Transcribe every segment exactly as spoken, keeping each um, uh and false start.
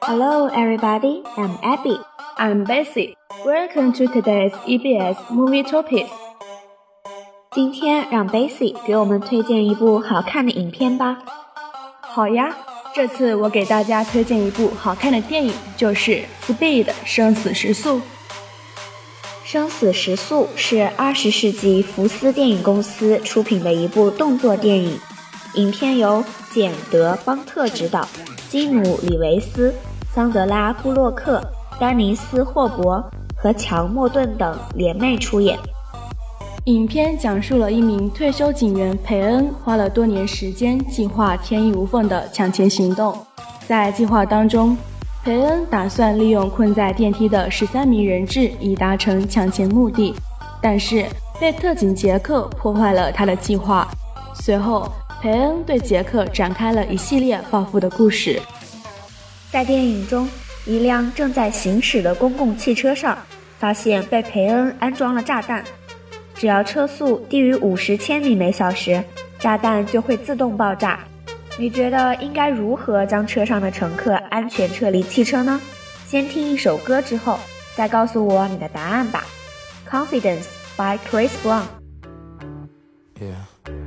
Hello everybody, I'm Abby. I'm Bessie. Welcome to today's E B S Movie Topics. 今天让 Bessie 给我们推荐一部好看的影片吧。 好呀，这次我给大家推荐一部好看的电影，就是《Speed 生死时速》。 生死时速是二十世纪福斯电影公司出品的一部动作电影，影片由简·德·邦特执导，基努·里维斯、桑德拉·布洛克、丹尼斯·霍伯和乔·莫顿等联袂出演。 影片讲述了一名退休警员培恩花了多年时间计划天衣无缝的抢钱行动。在计划当中，培恩打算利用困在电梯的十三名人质以达成抢钱目的，但是被特警杰克破坏了他的计划。随后培恩对杰克展开了一系列报复的故事。 在电影中，一辆正在行驶的公共汽车上发现被培恩安装了炸弹，只要车速低于五十千米每小时，炸弹就会自动爆炸。你觉得应该如何将车上的乘客安全撤离汽车呢？先听一首歌之后再告诉我你的答案吧。 Confidence by Chris Brown。 Yeah.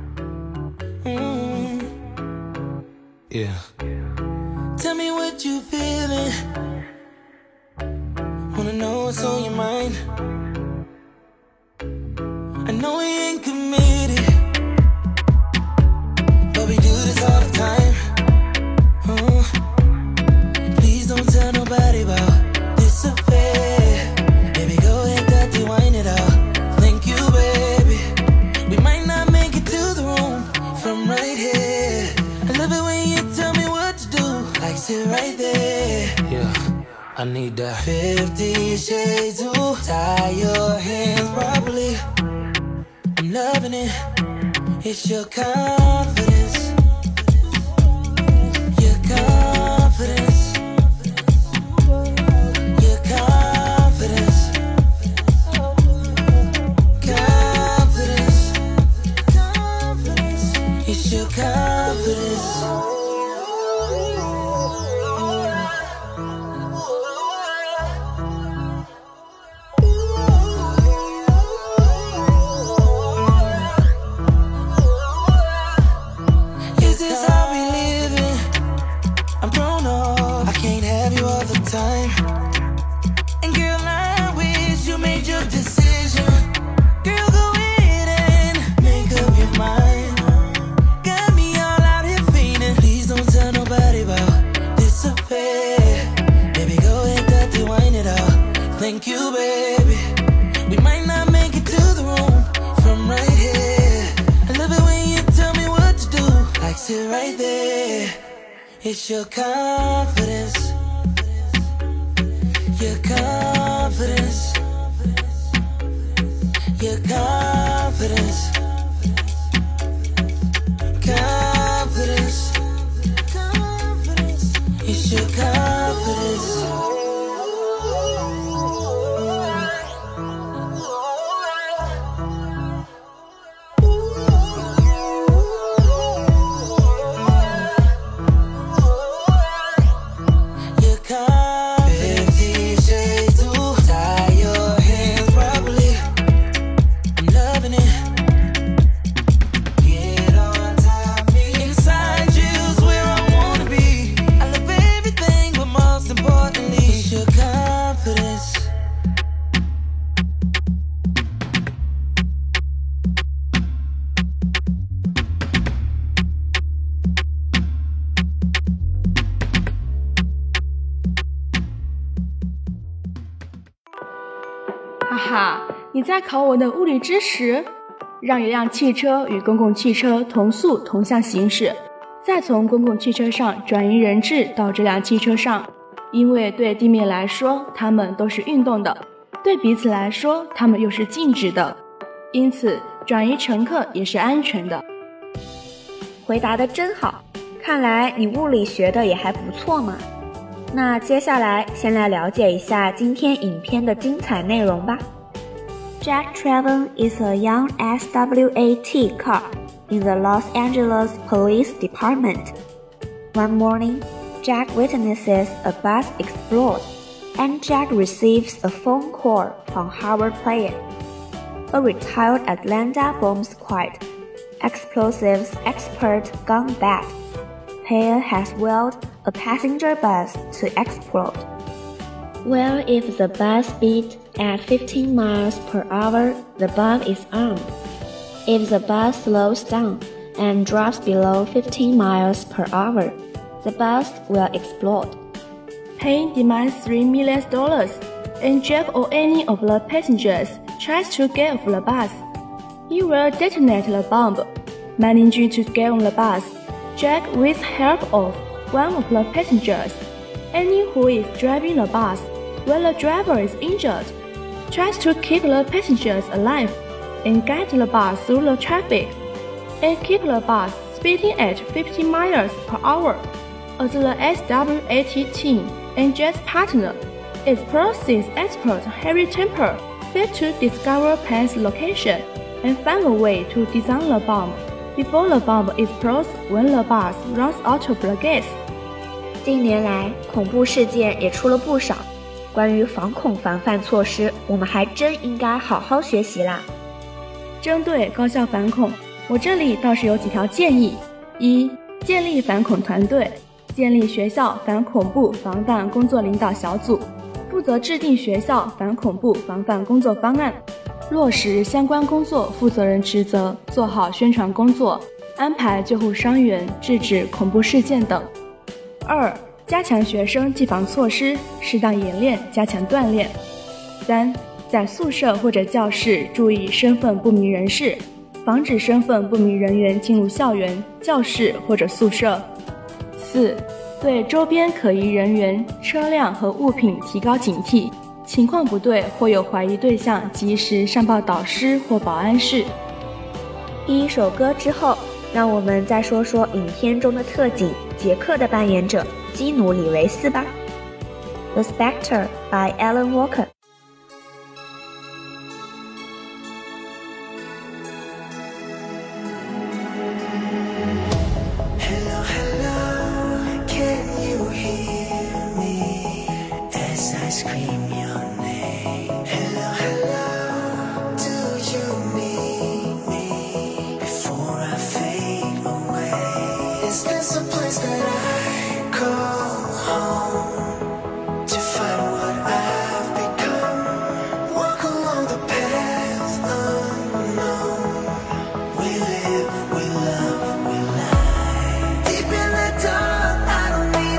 Mm. Yeah. Tell me what you feeling. Wanna know what's on your mind. I know we ain't committed, but we do this all the time. uh, Please don't tell nobody about this affair. Baby, go ahead, dirty, wind it out. Thank you, baby. We might not make it to the room from right here. I love it when you tell me what to do, like sit right there. Yeah, I need that Fifty Shades to tie your hands properly. I'm loving it. It's your confidence. Your confidence. Your confidence. Confidence. Confidence. It's your confidence. And girl, I wish you made your decision. Girl, go ahead and make up your mind. Got me all out here feeling. Please don't tell nobody about this affair. Baby, go ahead, dirty, wind it out. Thank you, baby. We might not make it to the room from right here. I love it when you tell me what to do, like sit right there. It's your confidence. Your confidence. Your confidence. Confidence. Confidence. It's your confidence. Confidence. 哈哈，你在考我的物理知识？让一辆汽车与公共汽车同速同向行驶，再从公共汽车上转移人质到这辆汽车上。因为对地面来说它们都是运动的，对彼此来说它们又是静止的，因此转移乘客也是安全的。 回答得真好，看来你物理学的也还不错嘛。那接下来先来了解一下今天影片的精彩内容吧。Jack Traven is a young S W A T cop in the Los Angeles Police Department. One morning, Jack witnesses a bus explode, and Jack receives a phone call from Harvard player, a retired Atlanta bomb squad explosives expert gone bad. Player has willed a passenger bus to explode. Well, if the bus speeds at fifteen miles per hour, the bomb is armed. If the bus slows down and drops below fifteen miles per hour, the bus will explode. Payne demands three million dollars, and Jack or any of the passengers tries to get off the bus. He will detonate the bomb. Managing to get on the bus, Jack, with help of one of the passengers, Annie, who is driving the bus, while the driver is injured, tries to keep the passengers alive and get the bus through the traffic, and keep the bus speeding at fifty miles per hour. As the S W A T team and Jack's partner, explosives expert Harry Temple set to discover Payne's location and find a way to design the bomb before the bomb explodes when the bus runs out of the gas. 近年来，恐怖事件也出了不少。关于防恐防范措施，我们还真应该好好学习啦。 针对高校反恐，我这里倒是有几条建议：一、建立反恐团队，建立学校反恐怖防范工作领导小组，负责制定学校反恐怖防范工作方案，落实相关工作负责人职责，做好宣传工作，安排救护伤员，制止恐怖事件等。二、加强学生纪防措施，适当演练，加强锻炼。三、在宿舍或者教室注意身份不明人士，防止身份不明人员进入校园、教室或者宿舍。四、对周边可疑人员、车辆和物品提高警惕，情况不对或有怀疑对象，及时上报导师或保安室。 第一首歌之后，让我们再说说影片中的特警杰克的扮演者基努·里维斯吧。The Spectre by Alan Walker。 Deep in the dark, I don't need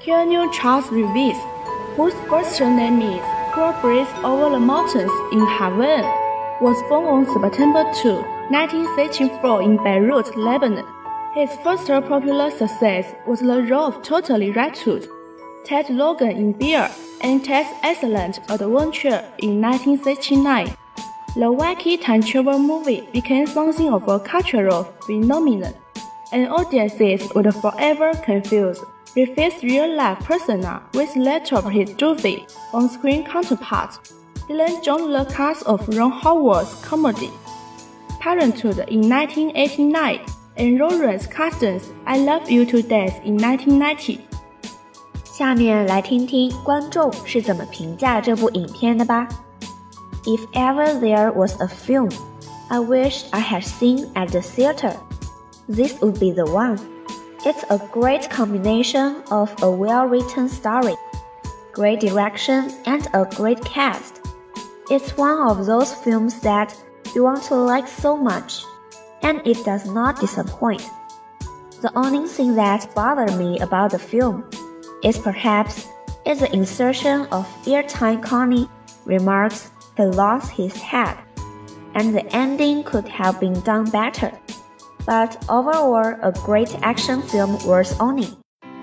Here new Charles Reeves, whose first name is Poor Breeze Over the Mountains in Haven, was born on September second, nineteen sixty-four in Beirut, Lebanon. His first popular success was the role of Totally Returned, Ted Logan in Beer, and Ted's Excellent Adventure in nineteen sixty-nine. The wacky time travel movie became something of a cultural phenomenon, and audiences would forever confuse Reeves' real-life persona with later of his Doofy on-screen counterpart. He then joined the cast of Ron Howard's comedy Parenthood in nineteen eighty-nine and Lawrence Kasdan's I Love You to Death in nineteen ninety. 下面来听听观众是怎么评价这部影片的吧。If ever there was a film I wished I had seen at the theater, this would be the one. It's a great combination of a well-written story, great direction, and a great cast. It's one of those films that you want to like so much, and it does not disappoint. The only thing that bothered me about the film is perhaps is the insertion of airtime Connie remarks he lost his head, and the ending could have been done better. But overall, a great action film worth owning.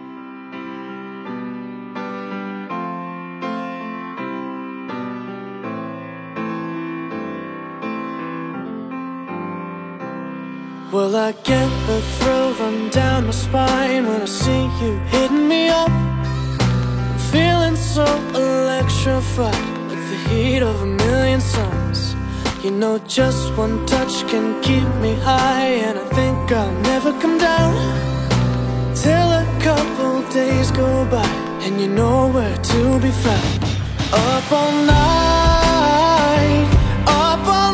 Well, I get the thrill run down my spine when I see you hitting me up. I'm feeling so electrified, like the heat of a million suns. You know just one touch can keep me high, and I think I'll never come down till a couple days go by and you know where to be found. Up all night, up all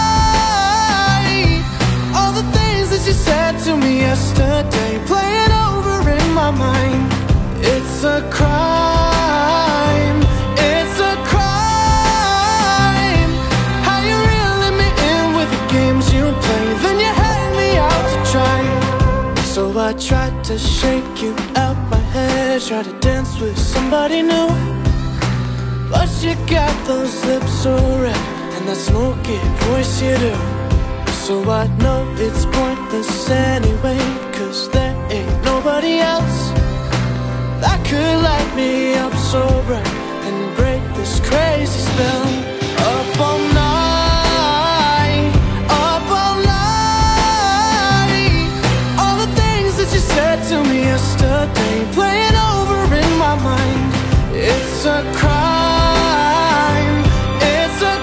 night, all the things that you said to me yesterday playing over in my mind. It's a crime, it's a crime, how you reeling me in with the games you play, then you hang me out to dry. So I tried to shake you out my head, try to dance with somebody new, but you got those lips so red and that smoky voice you do. So I know it's pointless anyway, cause there ain't nobody else that could light me up so bright and break this crazy spell. Up all night, up all night, all the things that you said to me yesterday playing over in my mind. It's a crime, it's a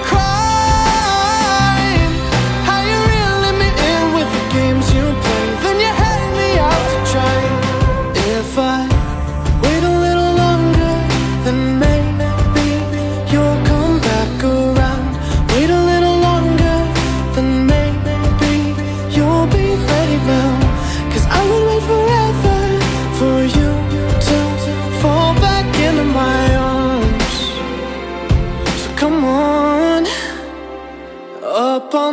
crime, how you reeling me in with the games you play, then you hang me out to dry. If I wait a little longer, then maybe you'll come back around. Wait a little longer, then maybe you'll be ready now. Cause I would wait forever for you to fall back into my arms. So come on. Up all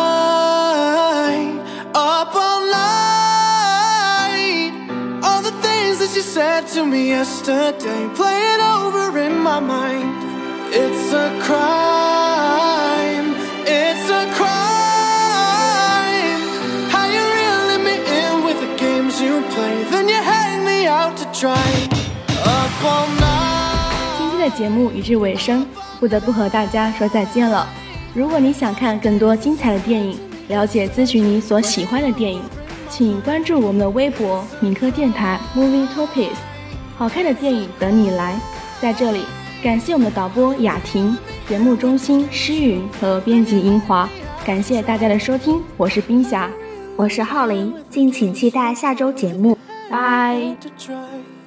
night, up all night, all the things that you said to me yesterday playing over in my mind. It's a crime, it's a crime, how you reeling me in with the games you play, then you hang me out to dry. Up all night. 今天的节目已至尾声，不得不和大家说再见了。如果你想看更多精彩的电影，了解咨询你所喜欢的电影，请关注我们的微博敏科电台 Movie Topics， 好看的电影等你来。在这里感谢我们的导播雅婷，节目中心诗云和编辑樱华，感谢大家的收听，我是冰霞， 我是浩林，敬请期待下周节目，拜。 to try.